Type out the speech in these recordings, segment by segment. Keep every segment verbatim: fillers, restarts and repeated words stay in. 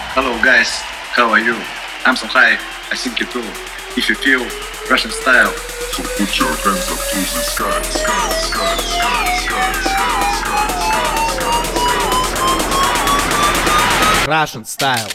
Hello guys, how are you? I'm so high, I think you too. If you feel Russian style, so put your hands up to the sky, sky, sky, sky, sky, sky, sky, sky, sky. Russian style.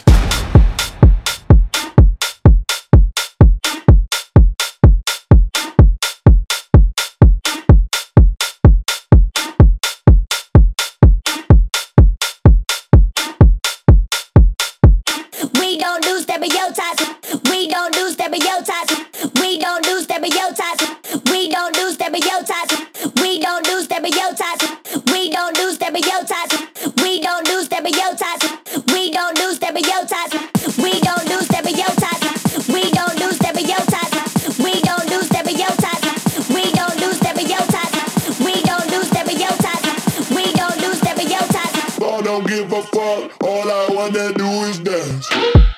We don't do stereotypes. We don't do stereotypes. We don't do stereotypes. We don't do stereotypes. We don't do stereotypes. We don't do stereotypes. We don't do stereotypes. We don't do stereotypes. We don't do stereotypes. We don't do stereotypes. We don't do stereotypes. We don't do stereotypes. We don't do stereotypes. We don't do stereotypes. I don't give a fuck. All I wanna do is dance.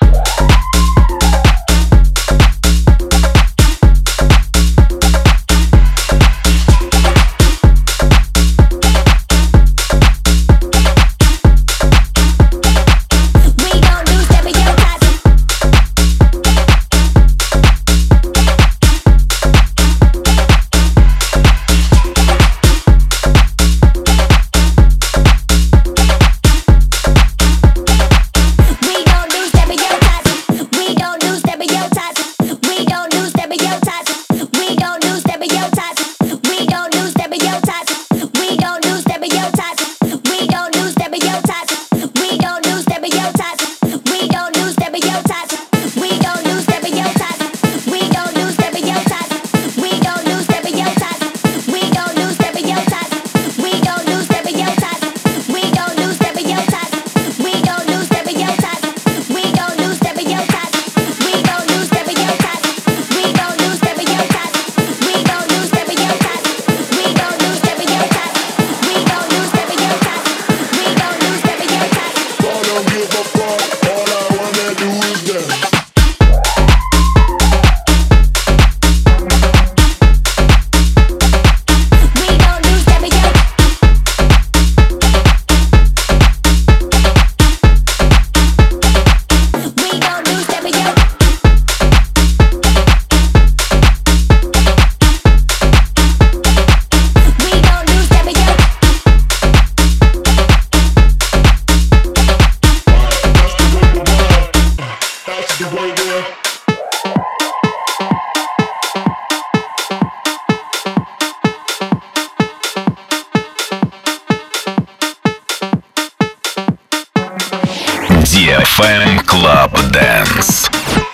Fan Club Dance.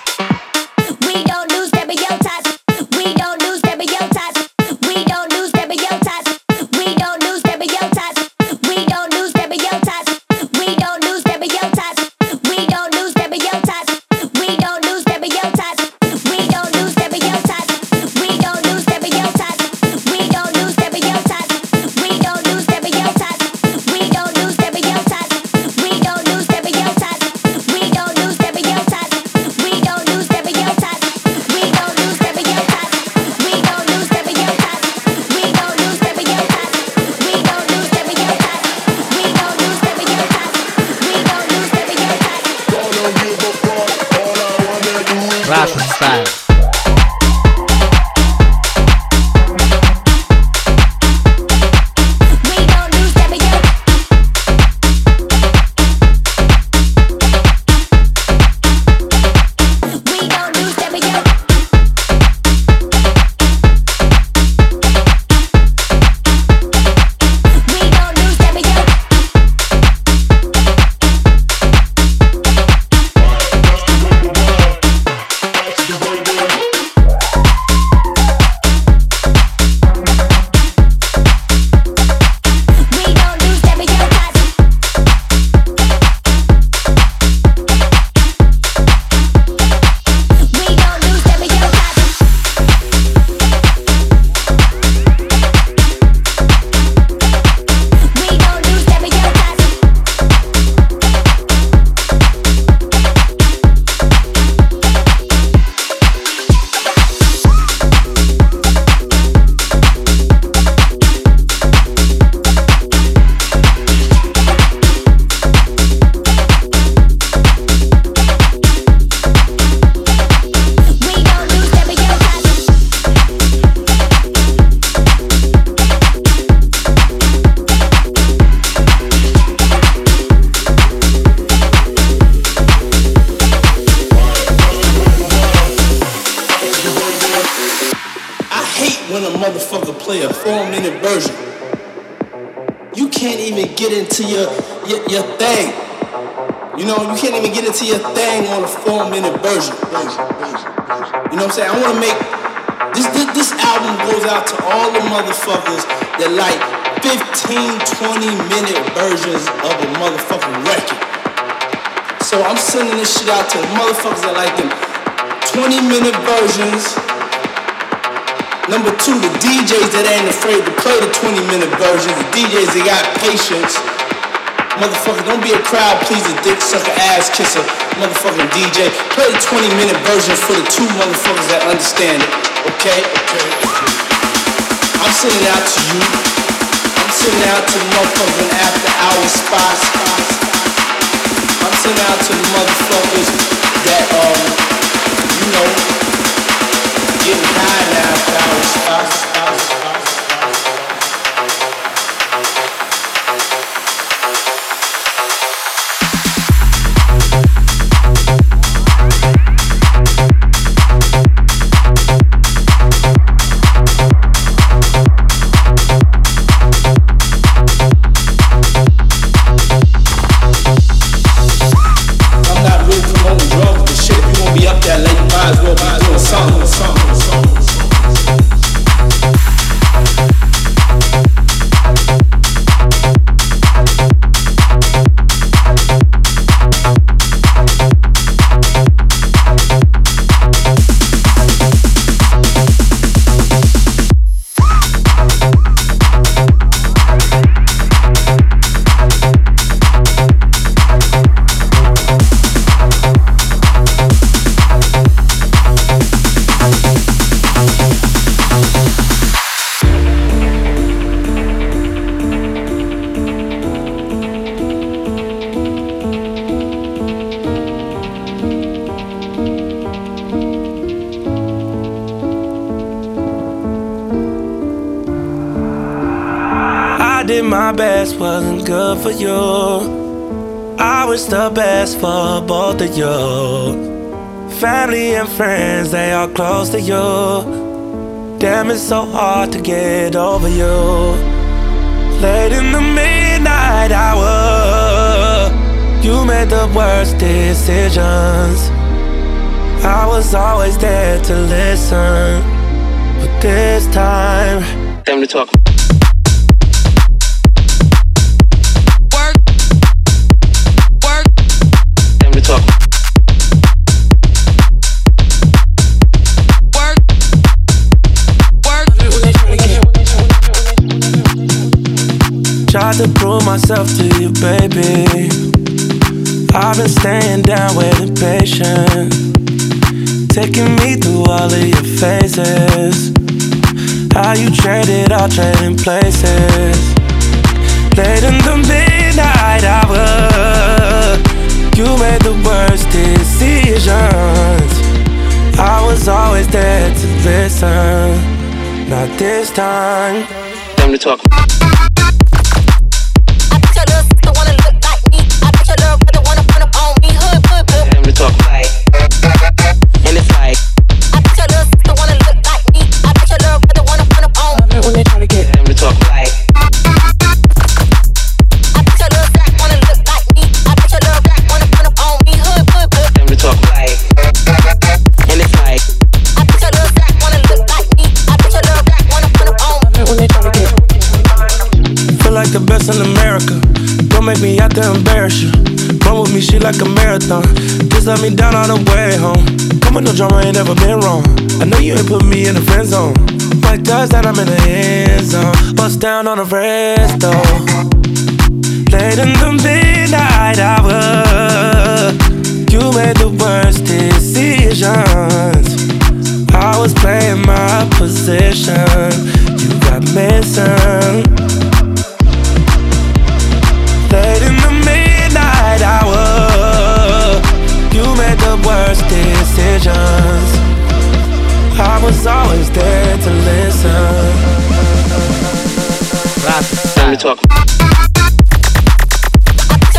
Russian style. That's the way we're minute version. You can't even get into your, your, your thing. You know, you can't even get into your thing on a four minute version. You know what I'm saying? I want to make, this, this, this album goes out to all the motherfuckers that like fifteen, twenty minute versions of a motherfucking record. So I'm sending this shit out to the motherfuckers that like them twenty minute versions. Number two, the D Js that ain't afraid to play the twenty minute versions. The D Js that got patience. Motherfucker, don't be a crowd pleaser, dick sucker, ass kisser, motherfucking D J. Play the twenty minute versions for the two motherfuckers that understand it. Okay? Okay. I'm sending out to you. I'm sending out to the motherfucking after hour spots. I'm sending out to the motherfuckers that, um, you know, getting high now after hour spots. My best wasn't good for you. I wish the best for both of you. Family and friends, they are close to you. Damn, it's so hard to get over you. Late in the midnight hour, you made the worst decisions. I was always there to listen, but this time, time to talk. Tried to prove myself to you, baby. I've been staying down, waiting patient, taking me through all of your phases. How you traded, all trading places. Late in the midnight hour, you made the worst decisions. I was always there to listen. Not this time. Time to talk. Talk like, and it's like, I bet your little sister wanna look like me. I bet your little brother wanna run up on me when they try to get them to talk like. I bet your little black wanna look like me. I bet your little black wanna run up on me. Hood, hood, hood. Them to talk like, and it's like, I bet your little black wanna look like me. I bet your little black wanna run up on me when they try to get. Feel like the best in America. Don't make me out to embarrass you. Run with me, she like a marathon. Just let me down all the way home. Come with no drama, ain't never been wrong. I know you ain't put me in the friend zone. Like does that, I'm in the end zone. Bust down on the resto. Late in the midnight hour, you made the worst decisions. I was playing my position. You got missing. Late in the midnight hour, you made the worst decisions. I was always there to listen. Let me talk.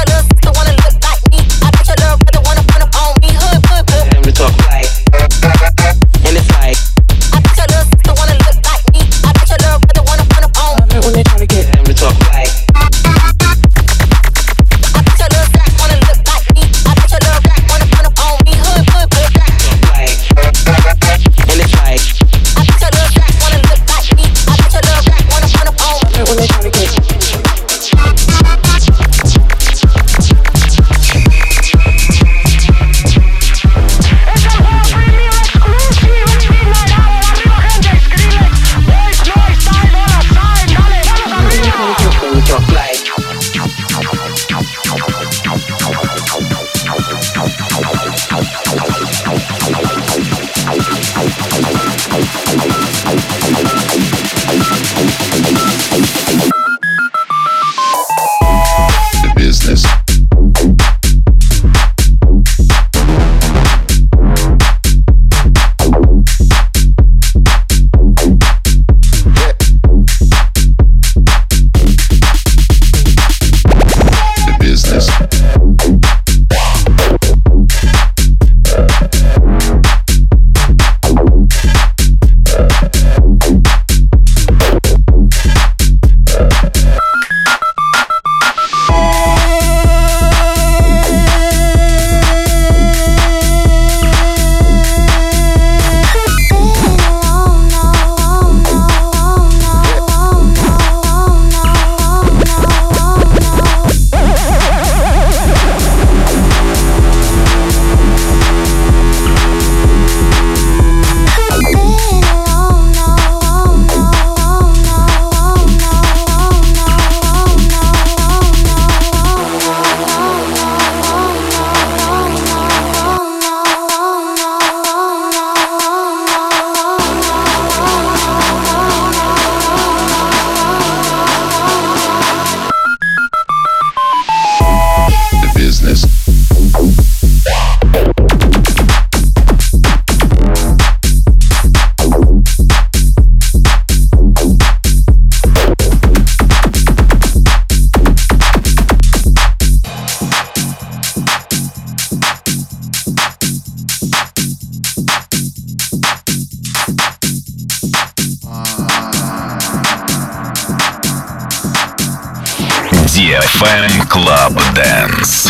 эф эм Club Dance.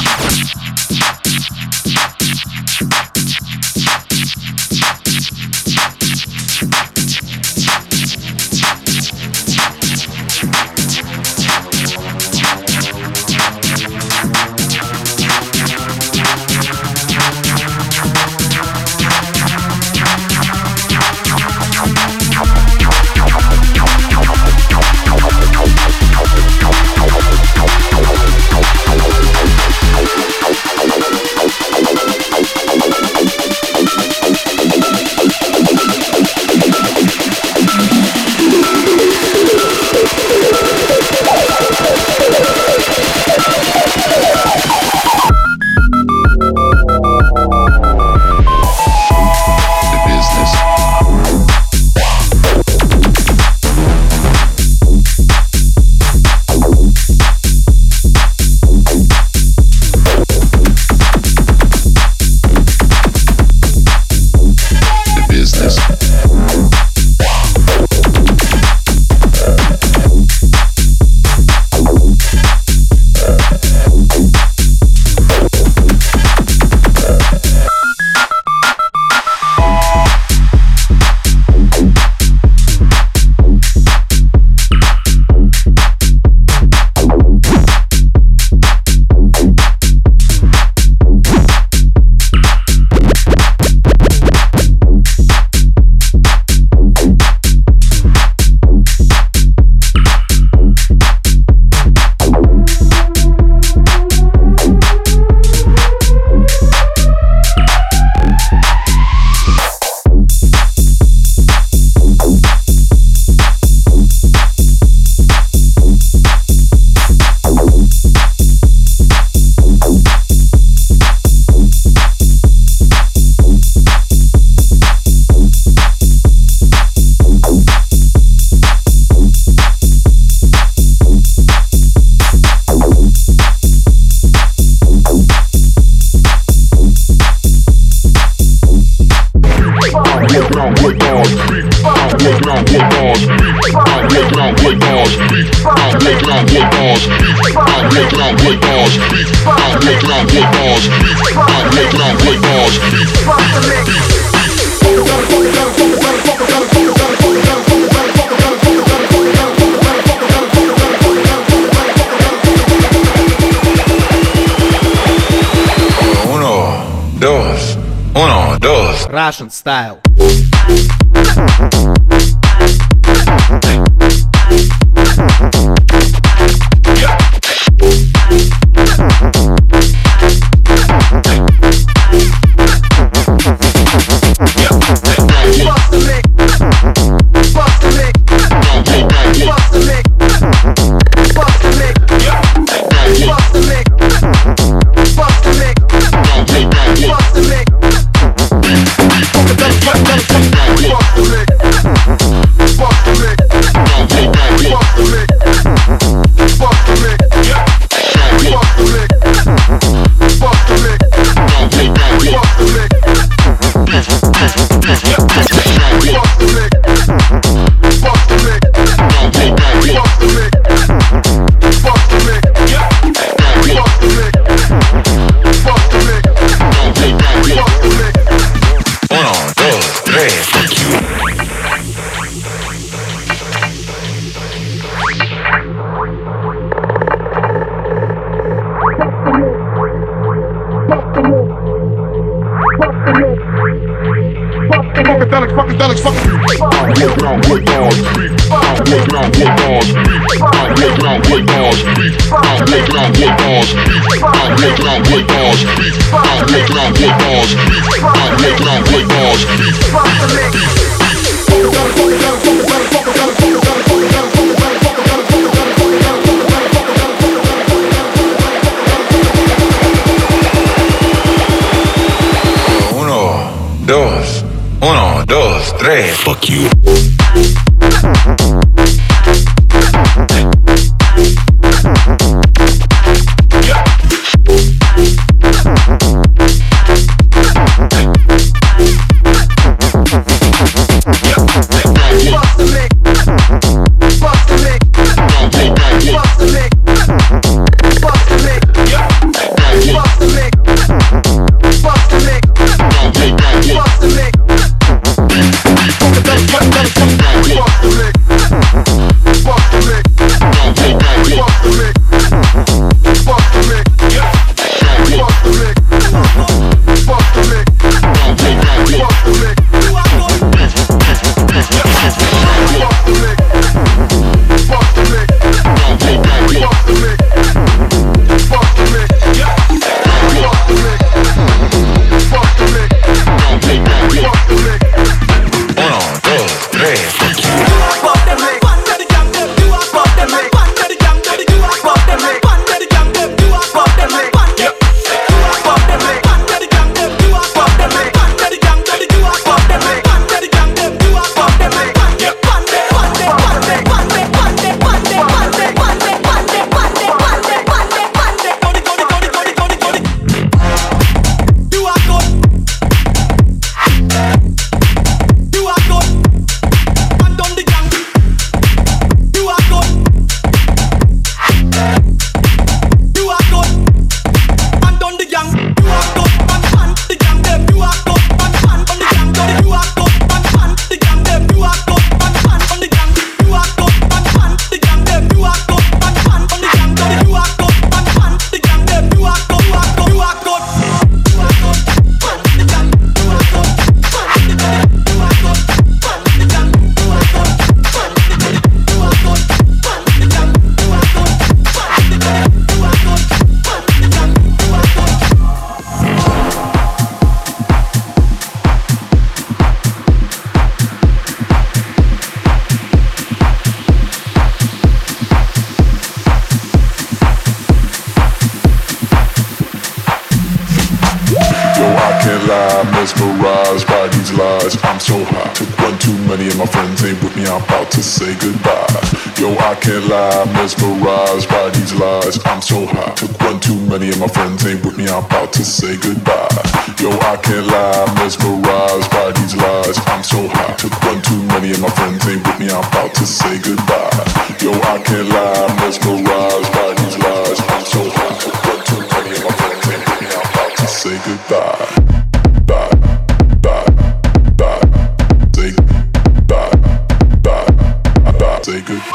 Russian style. Fuck you. Bust the lick. Yo, I can't lie, mesmerized by these lies. I'm so high, took one too many and my friends ain't with me, I'm about to say goodbye. Yo, I can't lie, mesmerized by these lies. I'm so high, took one too many and my friends ain't with me, I'm about to say goodbye. Yo, I can't lie, mesmerized by these lies. I'm so high, took one too many and my friends ain't with me, I'm about to say goodbye. Yo, I can't lie, mesmerized by these lies. I'm so high, took one too many and my friends ain't with me, I'm about to say goodbye. Bye, bye, bye, say bye, bye, bye, say goodbye.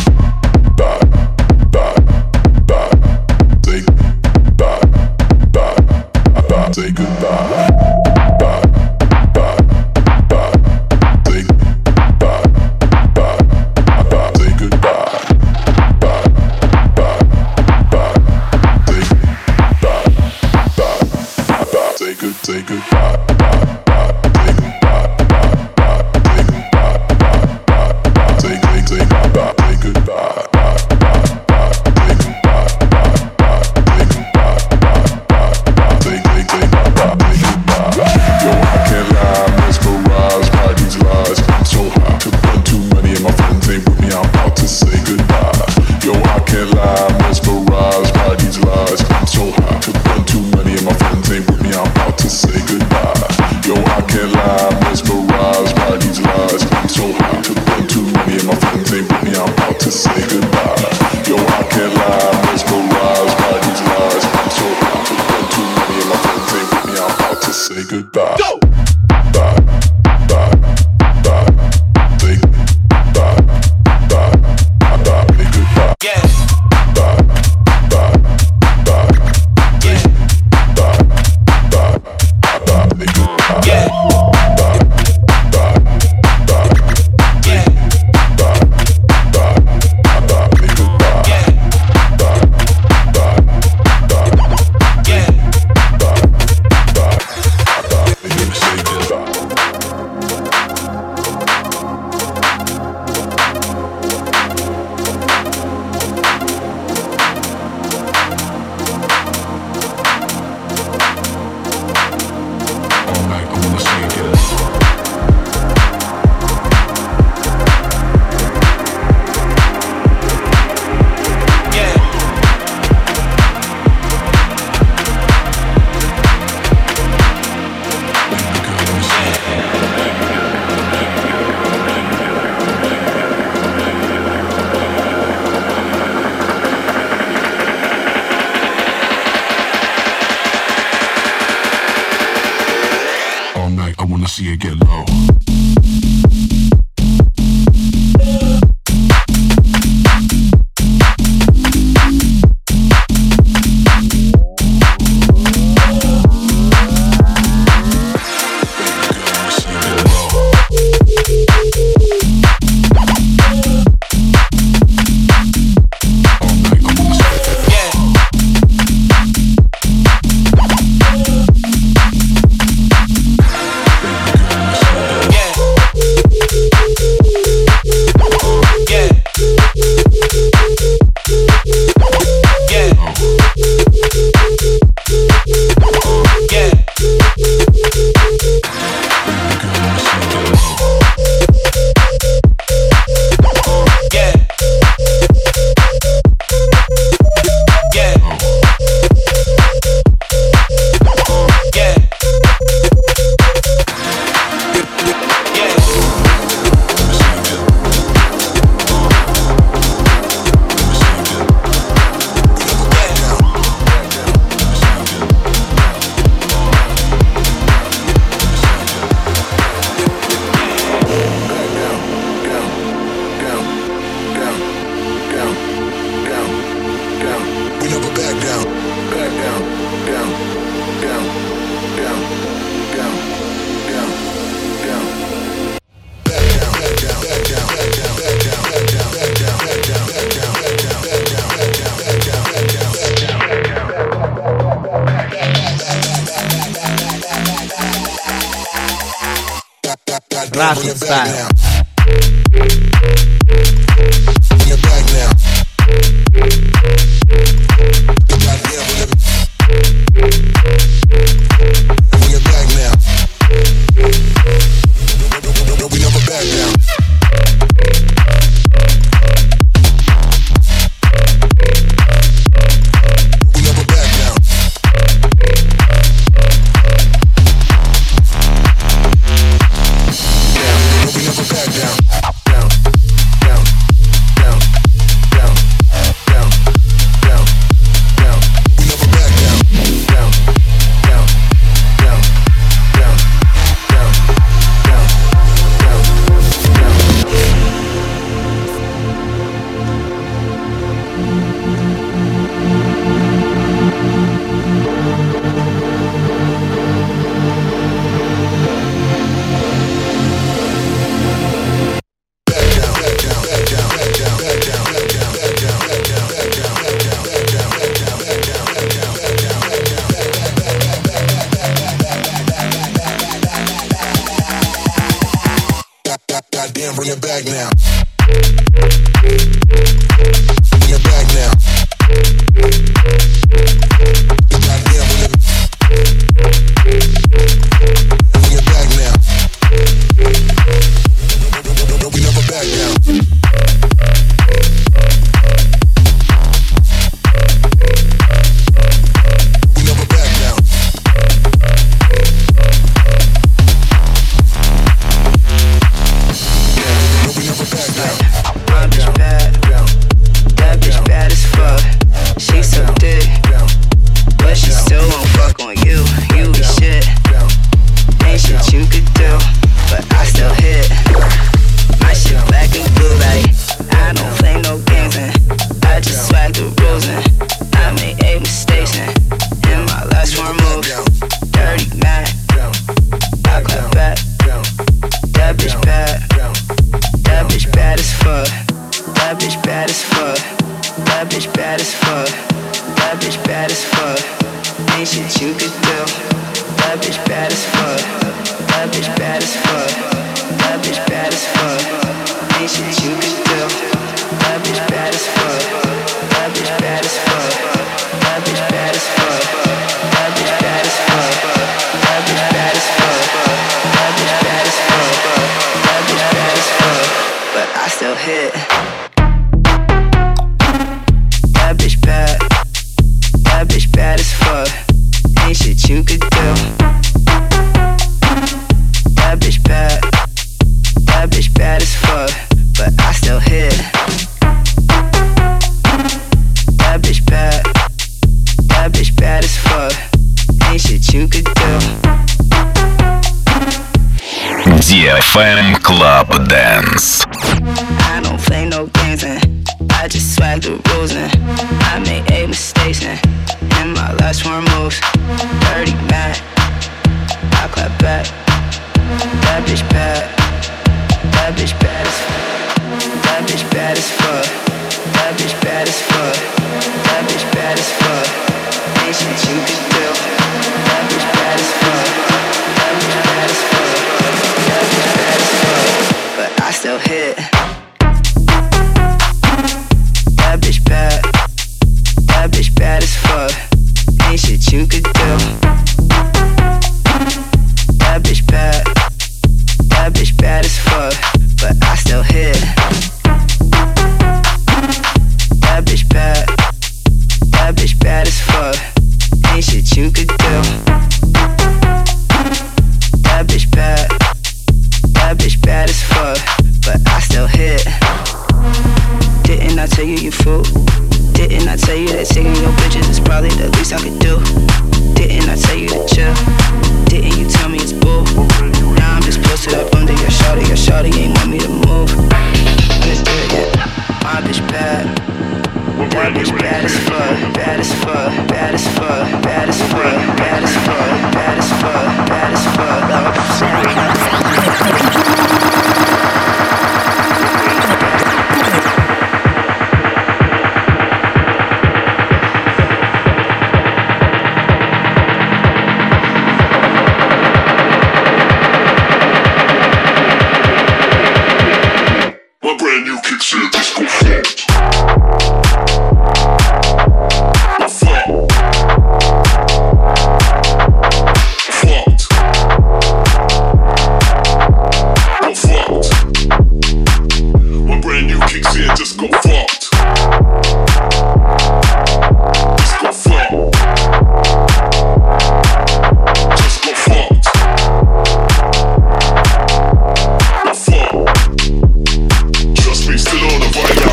Say goodbye. Bye, bye, bye. Say bye, bye, bye. Say goodbye. Bye, bye, bye. Say bye, bye, bye. Say good, say goodbye. Bye, bye. Say goodbye. Bye, bye. Say goodbye. Bye, bye, bye. Say, say, say bye, bye. Say goodbye. Bye, bye, bye. Say goodbye. Bye, bye. Say goodbye. Bye, bye, bye. Say, say, say. Yo, I can't lie, mesmerized by these lies. I'm so high, took one too many and my friends ain't with me, I'm about to say goodbye. Yo, I can't lie, mesmerized by these lies. I'm so high, took one too many and my friends ain't with me, I'm about to say goodbye. Yo, I can't lie, mesmerized by these lies. I'm so high, took one too many and my friends ain't with me, I'm about to say goodbye. Yo, I can't lie, mesmerized by these lies. I'm so high, took one too many and my friends ain't with me, I'm about to say goodbye. Go! Bye, bye, bye. Say bye, bye, bye. Say goodbye. Yeah. Bye, bye, bye. Say bye, bye, bye. Say goodbye. Yeah. Bye, bye, bye. Say bye, bye, bye. Say goodbye. Yeah. Bye, bye, bye. Yeah. Bye, bye, bye. Say goodbye. See it get low. Russian style. Goddamn, bring it back now. Bring it back now. Goddamn, bring it. Bring it back now. We never back down. ди эф эм Club Dance. I don't play no games and I just swag the rules and I made eight mistakes and in my last four moves, dirty Mac, I clap back. That bitch bad, that bitch bad as fuck. That bitch bad as fuck. That bitch bad as fuck. That bitch bad as fuck. Ain't shit you could do. That bitch bad as fuck. That bitch bad as fuck. That bitch bad as fuck. But I still hit. That bitch bad. That bitch bad as fuck. Ain't shit you could do. That bitch bad. That bitch bad as fuck. But I still hit. That bitch bad. That bitch bad as fuck. Ain't shit you could do. That bitch bad. That bitch bad as fuck. But I still hit. Didn't I tell you you fool? Didn't I tell you that taking your bitches is probably the least I could do? Didn't I tell you to chill? Didn't you tell me it's bull? Now I'm just posted up under your shawty. Your shawty ain't want me to move. Understood, yeah. My bitch bad. That bitch bad as fuck. Bad as fuck. Bad as fuck. Bad as fuck. Bad as fuck. Bad as fuck. Bad as fuck. My brand new kicks in disco funk. Still on the vibe.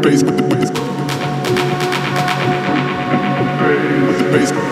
bass, with the bass, with the bass, bass.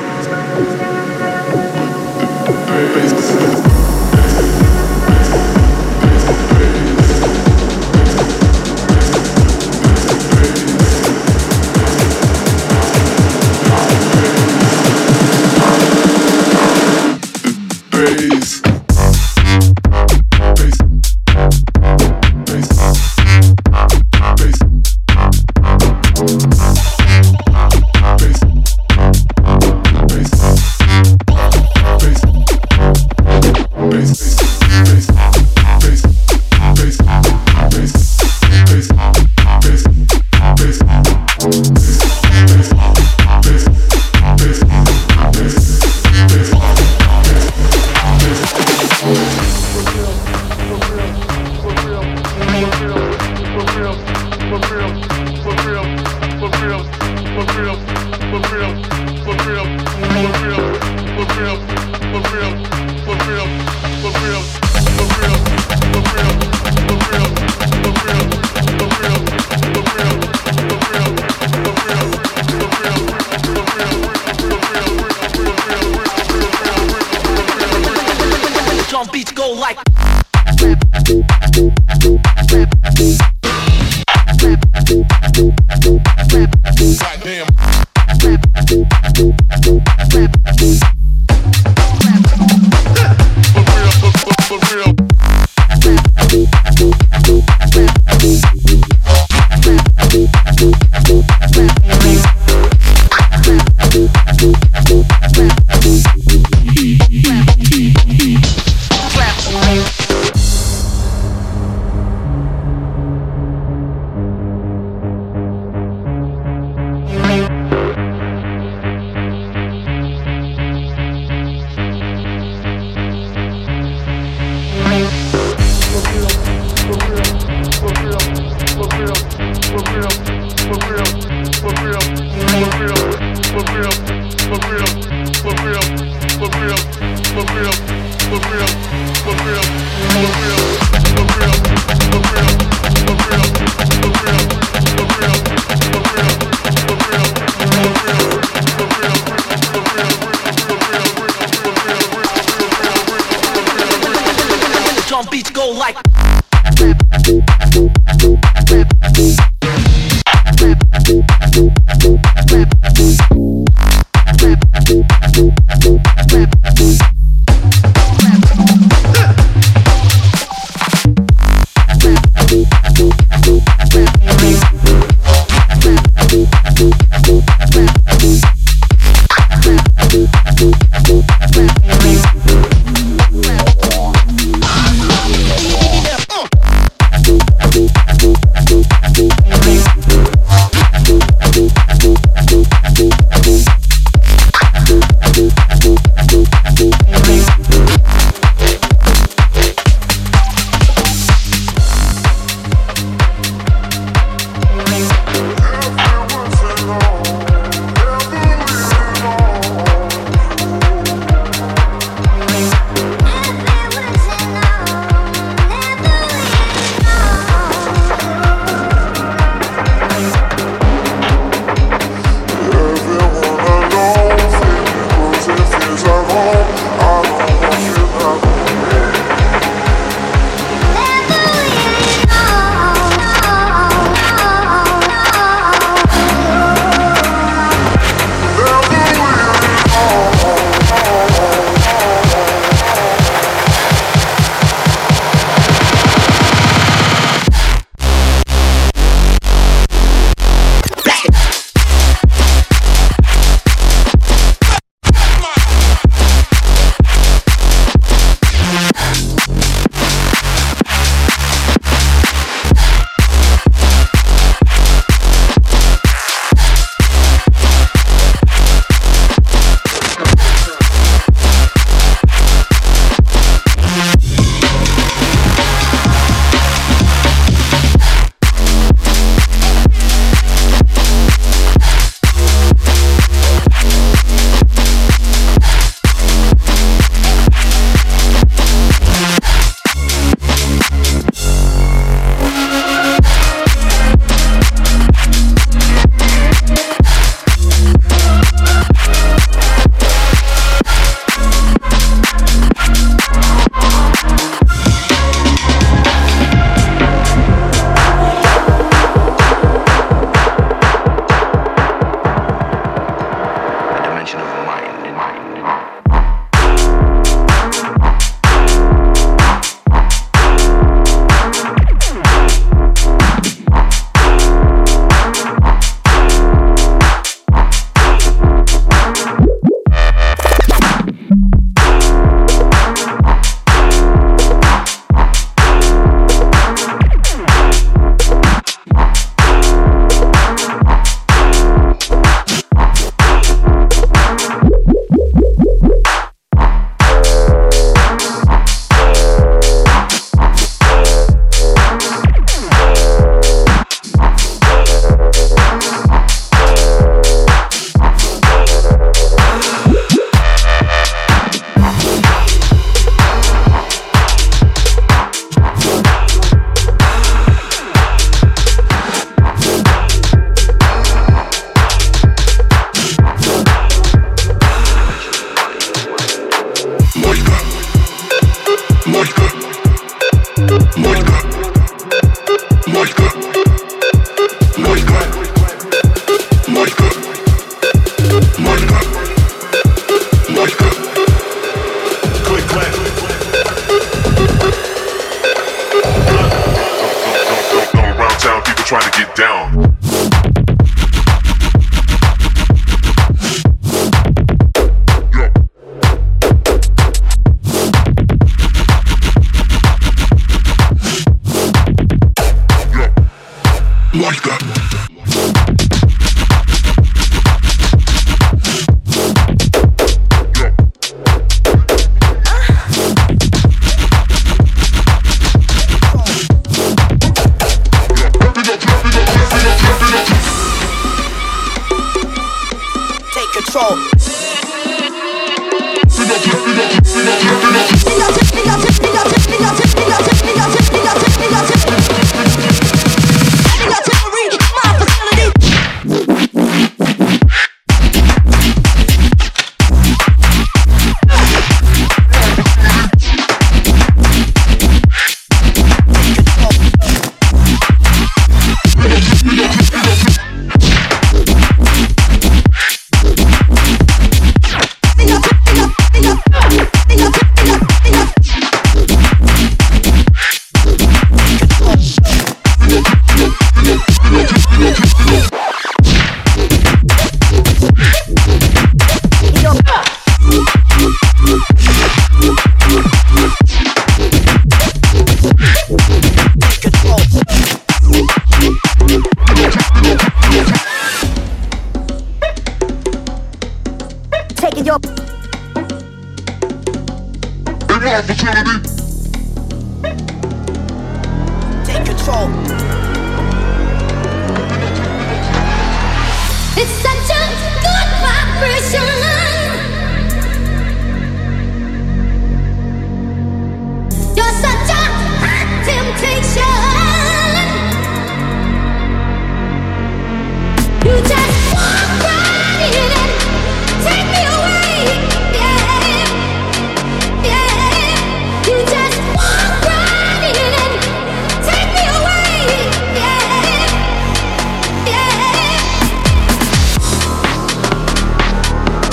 trying to get down. Like that. Take control. Taking your opportunity. Take control. It's such a good vibration. You're such a hot temptation. You just walk right in and take me away. Yeah, yeah. You just walk right in and take me away. Yeah, yeah.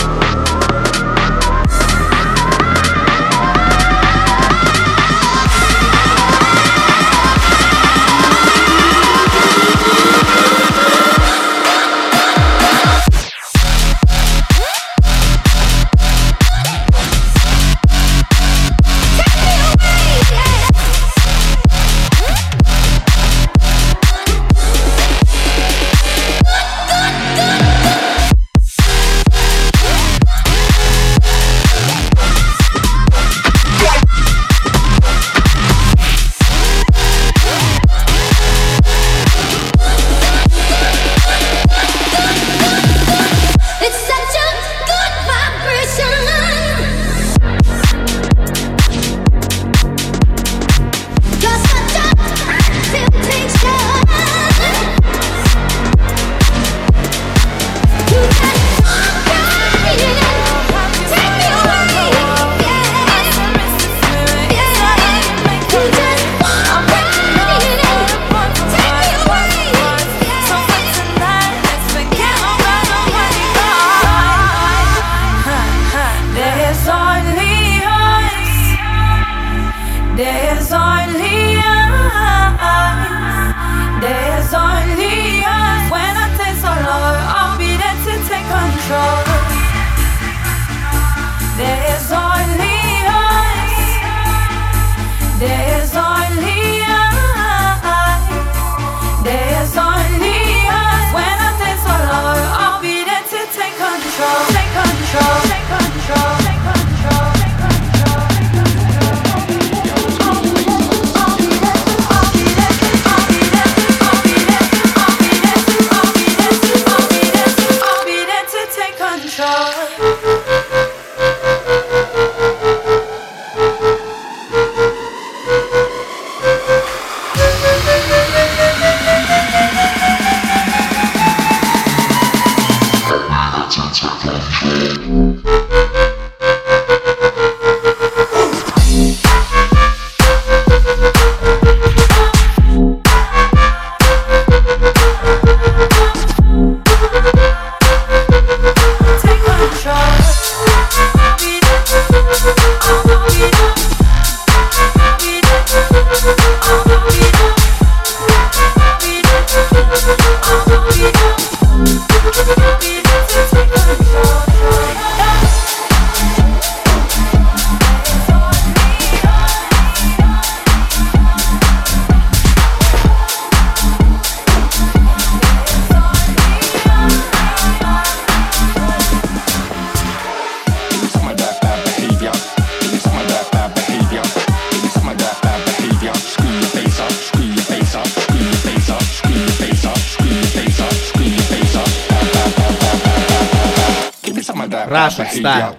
Russian style.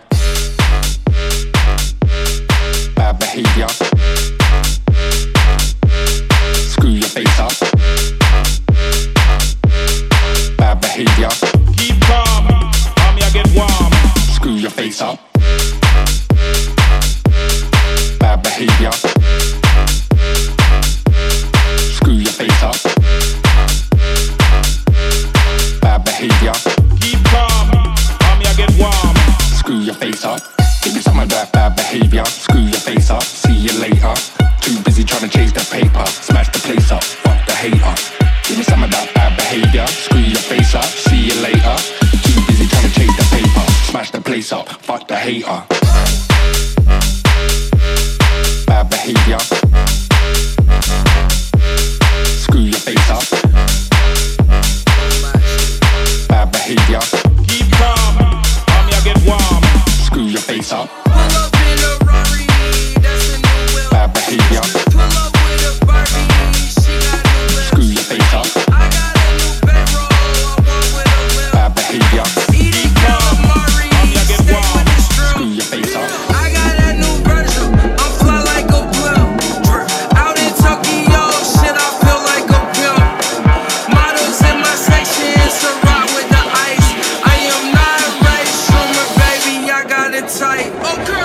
Bad behavior. Screw your face up. Bad behavior. Keep calm, mommy, I get warm. Screw your face up. Bad behavior. Screw your face up. Bad behavior. Keep calm, mommy, I get warm. Screw your face up. Give me some of that bad behavior. Screw your face up. See you later. Too busy trying to chase the paper. Smash the place up. Fuck the hater. Give me some of that bad behavior. Screw your face up. See you later. Too busy trying to chase the paper. Smash the place up. Fuck the hater. Bad behavior. Screw your face up. Bad behavior. Keep calm, mommy, I get warm. Screw your face up. Pull up in a Rari, that's a new whip. Bad behavior. Pull up with a Barbie, she got new lips. Screw your face up. I got a new bedroll, I walk with a whip. Bad behavior. Eating calamari, mommy, I get stay warm. with the strip. Screw your face up. I got a new Virgil, I'm fly like a blimp. Out in Tokyo, shit, I feel like a pimp. Models in my section, so rock with the ice. I am not a race swimmer, baby, I got it tight. Okay.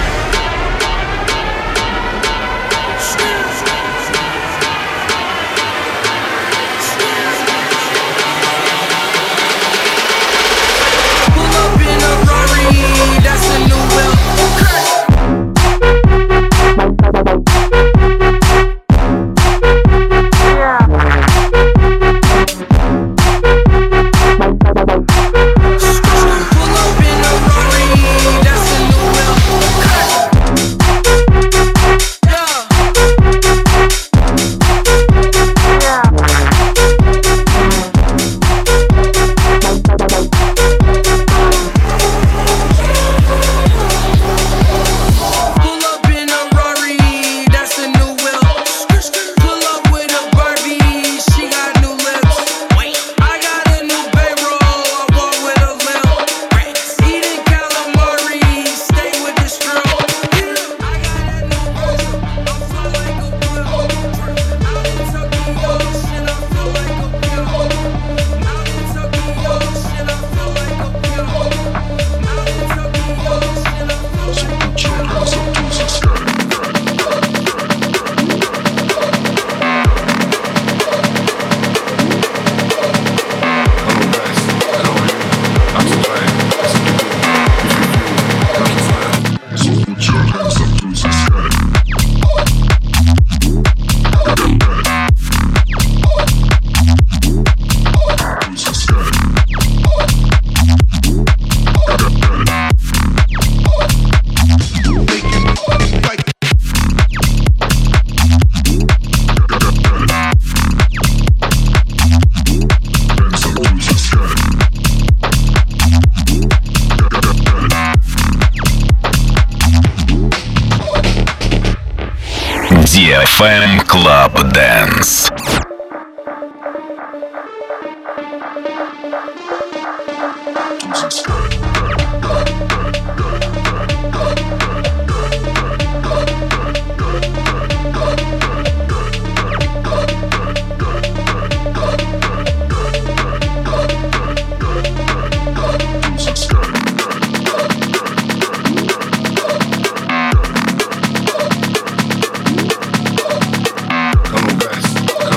Pull up in a Rari, that's a new whip. Okay. Pull up in a Rari, that's a new whip. Okay. Pull up in a Rari, that's a new whip. Pull up with a Barbie, she got new lips. I got a new payroll, I walk with a limp. Eating calamari, stay with the strip. I got a new Virgil, I'm fly like a blimp. Out in Tokyo, shit, I feel like a pimp. Out in Tokyo, shit, I feel like a pimp. Out in Tokyo, shit, I feel like a pimp. ди эф эм Club Dance. Come on, guys.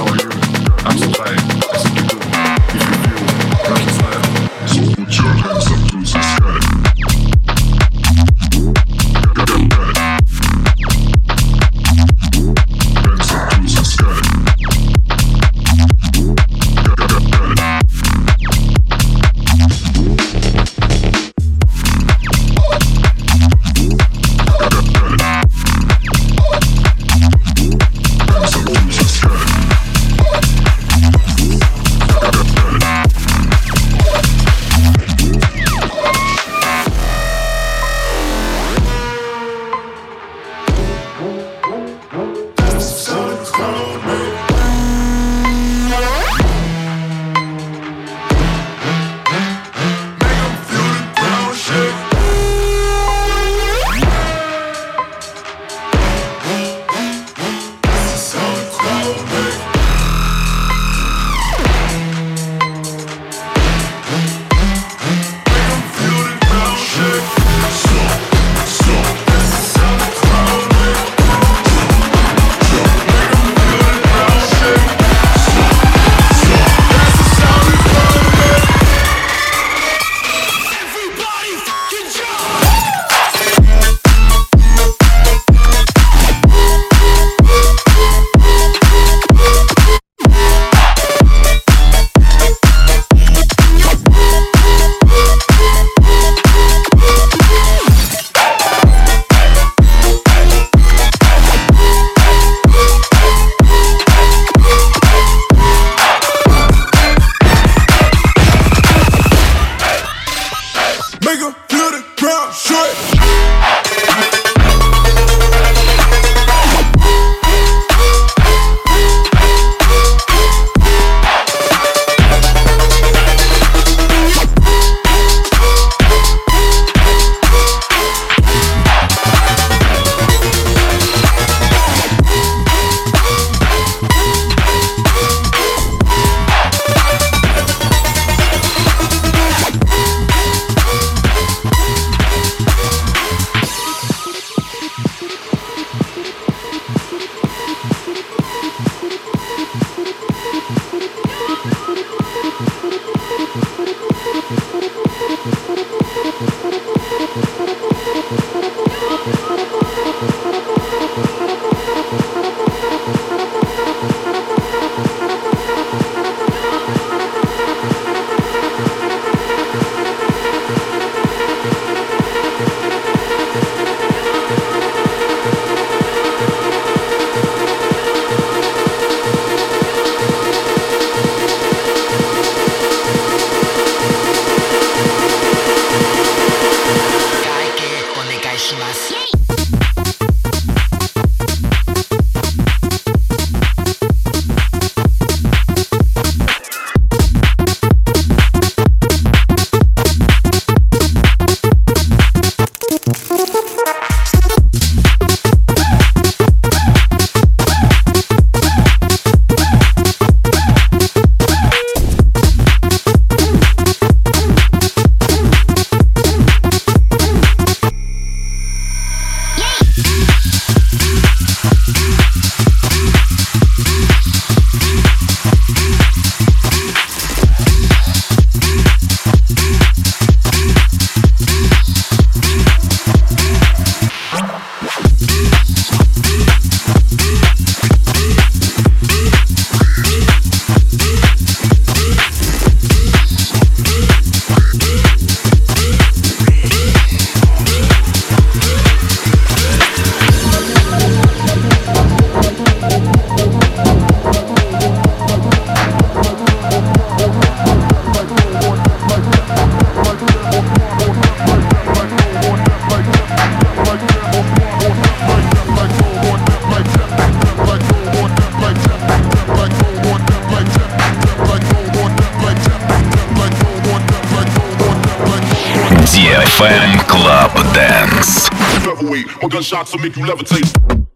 Fan Club Dance. Featherweight, my gunshots will make you levitate.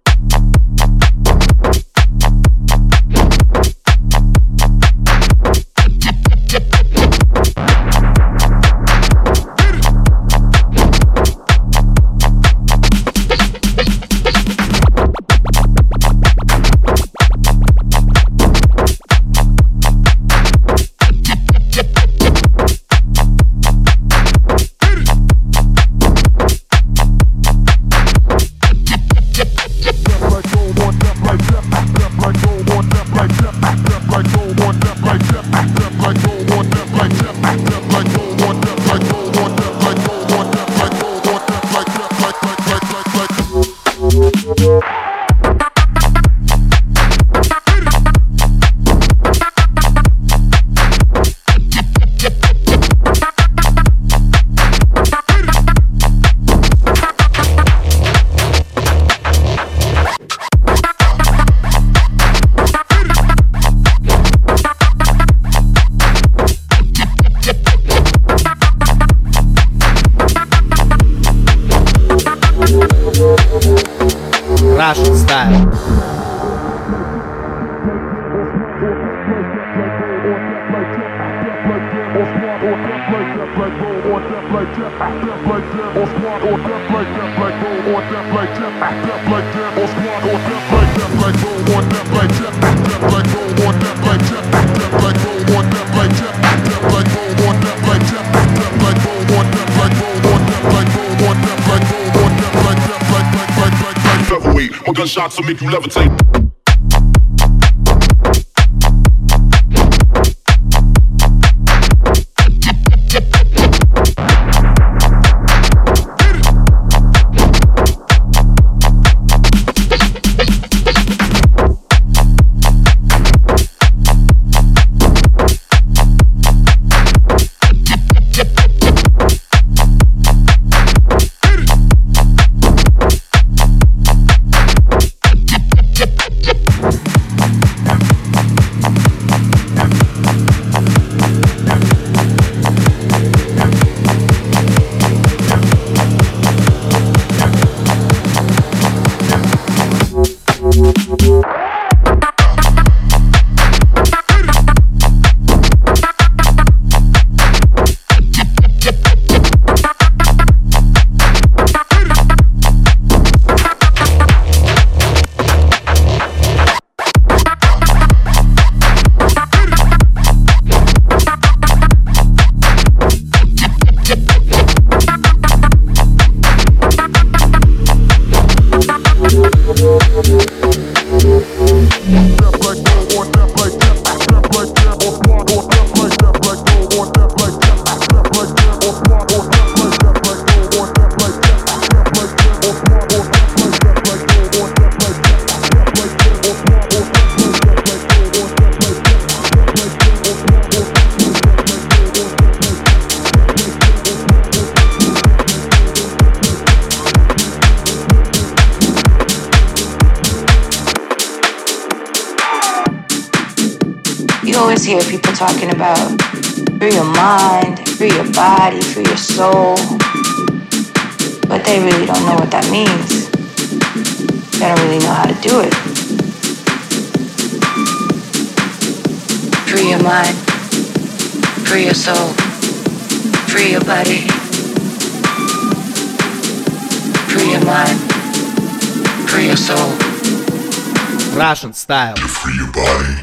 Russian style. Featherweight, my gunshots will make you levitate. always hear people talking about free your mind, free your body, free your soul, but they really don't know what that means. They don't really know how to do it. Free your mind, free your soul, free your body, free your mind, free your soul. Russian style. Free your body.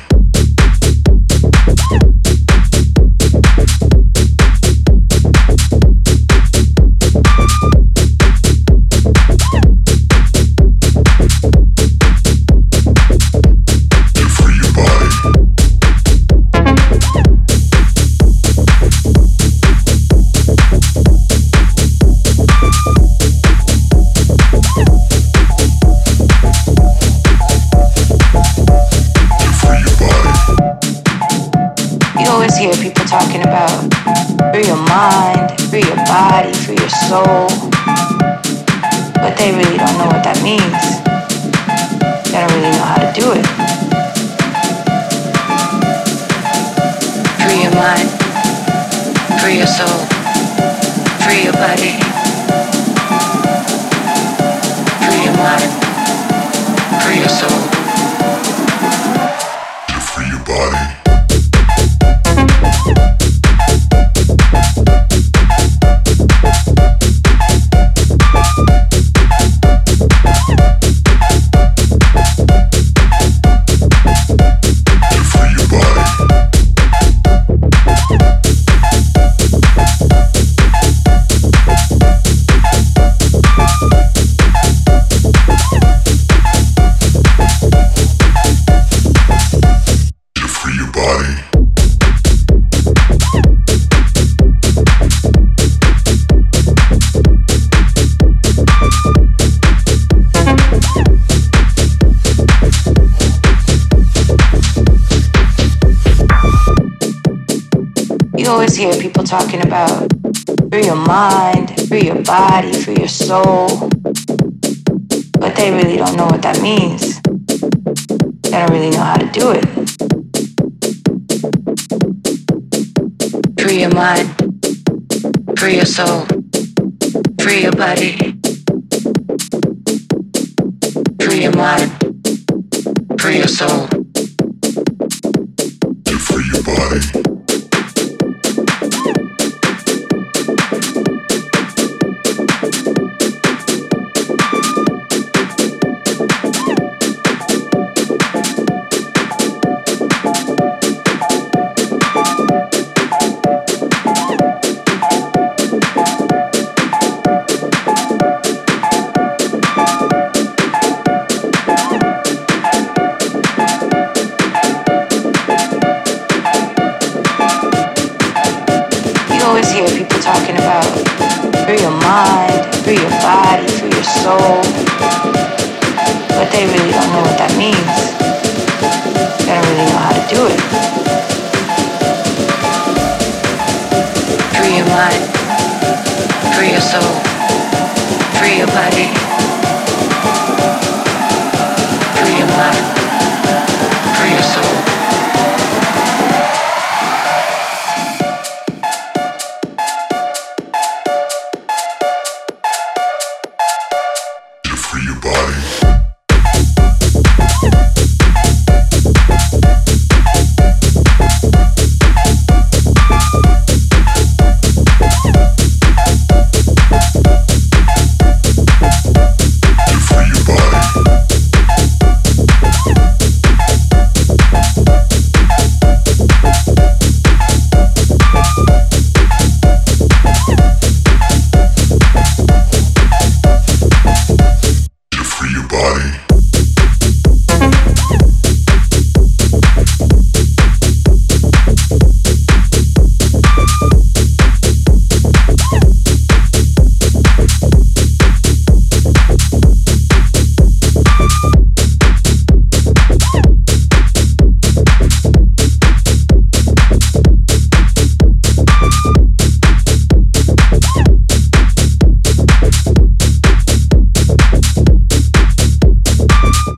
Hear people talking about free your mind, free your body, free your soul, but they really don't know what that means. They don't really know how to do it. Free your mind, free your soul, free your body. your mind, free your soul. To free your body. You always hear people talking about free your mind, free your body, free your soul, but they really don't know what that means. They don't really know how to do it. Free your mind, free your soul, free your body, free your mind, free your soul. To free your body. Talking about free your mind, free your body, free your soul, but they really don't know what that means. They don't really know how to do it. Free your mind, free your soul, free your body, free your mind.